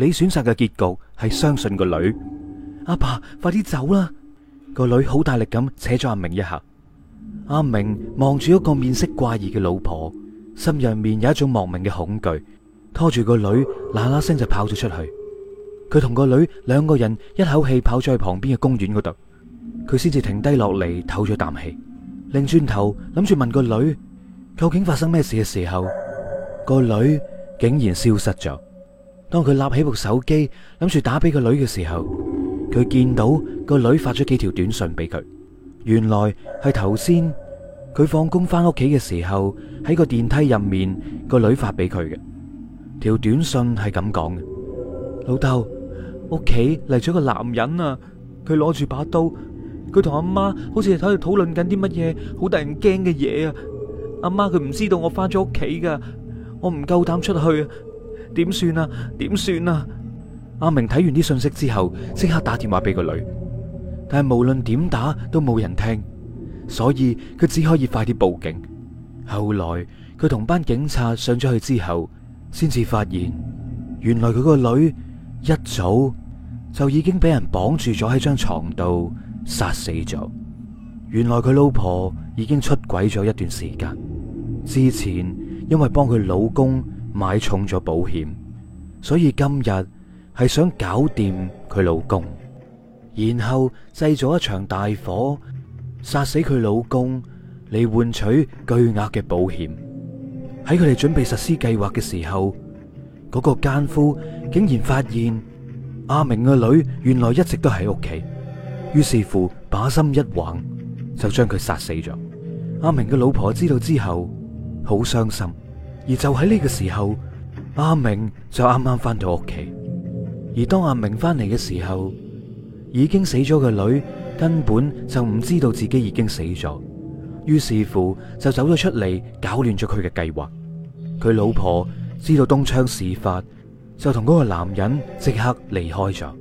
你選擇嘅結局係相信個女。阿爸，快啲走啦！個女好大力咁扯咗阿明一下。阿明望住一個面色怪異嘅老婆，心入面有一種莫名嘅恐懼，拖住個女嗱嗱聲就跑咗出去。佢同個女兩個人一口氣跑咗去旁邊嘅公園嗰度，佢先至停低落嚟唞咗啖氣，擰轉頭諗住問個女究竟發生咩事嘅時候，個女竟然消失咗。當佢立起部手機諗住打俾個女嘅時候，佢見到個女發咗幾條短信俾佢，原來係頭先佢放工翻屋企嘅時候喺個電梯入面個女發俾佢嘅條短信係咁講嘅：老豆，屋企嚟咗個男人啊，佢攞住把刀，佢同阿媽好似係喺度討論緊啲乜嘢好得人驚嘅嘢啊！阿媽佢唔知道我翻咗屋企噶，我唔夠膽出去啊！點算啊？點算啊？阿明睇完啲信息之後，即刻打電話俾個女，但係無論點打都冇人聽，所以佢只可以快啲報警。後來佢同班警察上咗去之後，先至發現原來佢個女一早就已經俾人綁住咗喺張床度殺死咗。原來佢老婆已經出軌咗一段時間，之前因為幫佢老公買重咗保險，所以今日係想搞掂佢老公，然後製造一場大火殺死佢老公嚟換取巨額嘅保險。喺佢哋準備實施計劃嘅時候，嗰個奸夫竟然發現阿明嘅女原來一直都喺屋企，於是乎把心一橫就將佢殺死咗。阿明嘅老婆知道之後好傷心，而就喺呢個時候，阿明就啱啱翻到屋企。而當阿明翻嚟嘅時候，已經死咗嘅女根本就唔知道自己已經死咗，於是乎就走咗出嚟搞亂咗佢嘅計劃。佢老婆知道東窗事發，就同嗰個男人即刻離開咗。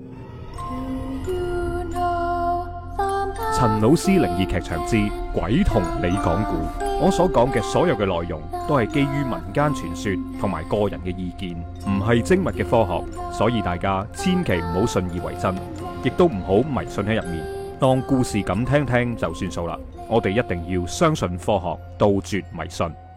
陳老師靈異劇場之鬼同你講故，我所講嘅所有嘅內容都係基於民間傳說同埋個人嘅意見，唔係精密嘅科學，所以大家千祈唔好信以為真，亦都唔好迷信喺入面，當故事咁聽聽就算數啦。我哋一定要相信科學，杜絕迷信。